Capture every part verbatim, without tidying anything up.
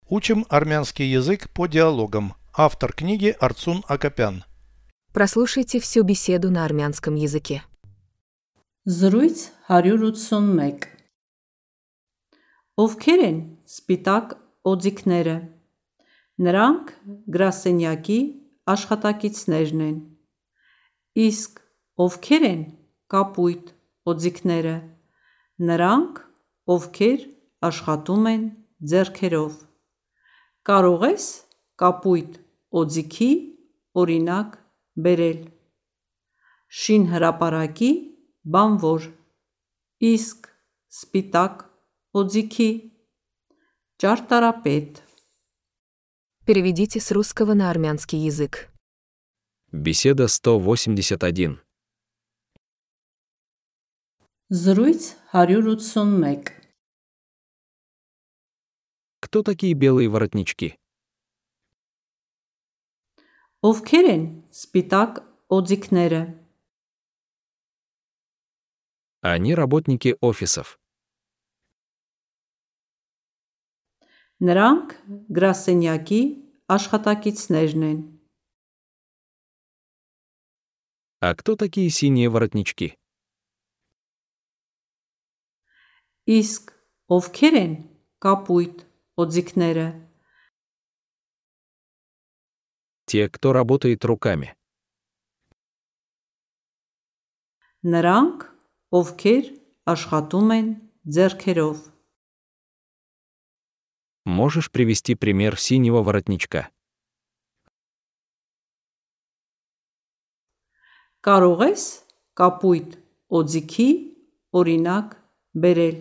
Учим армянский язык по диалогам. Автор книги Арцун Акопян. Прослушайте всю беседу на армянском языке. Զրույց հարյուր ութսունմեկ Ովքեր են սպիտակ օձիքները։ Նրանք գրասենյակի աշխատակիցներն են։ Իսկ ովքեր են կապույտ օձիքները։ Նրանք, ովքեր աշխատում են ձեռքերով։ Կարող ես կապույտ օձիքի օրինակ բերել։ Շինհրապարակի բանվոր, իսկ սպիտակ օձիքի ճարտարապետ։ Переведите с русского на армянский язык. Беседа сто восемьдесят один. Զրույց հարյուր ութսունմեկ Кто такие белые воротнички? Ովքեր են սպիտակ օձիքները։ Они работники офисов. Նրանք գրասենյակի աշխատակիցներն են։ А кто такие синие воротнички? Իսկ ովքեր են կապույտ օձիքները։ Те, кто работает руками. Նրանք, ովքեր աշխատում են ձեռքերով։ Можешь привести пример синего воротничка? Կարող ես կապույտ օձիքի օրինակ բերել։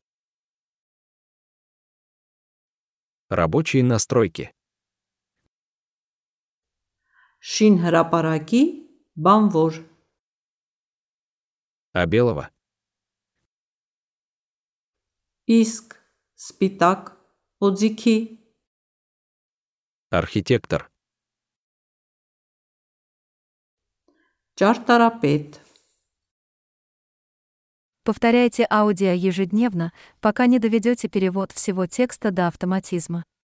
Рабочие настройки. Շինհրապարակի բանվոր, А белого? իսկ սպիտակ օձիքի Архитектор. ճարտարապետ։ Повторяйте аудио ежедневно, пока не доведете перевод всего текста до автоматизма.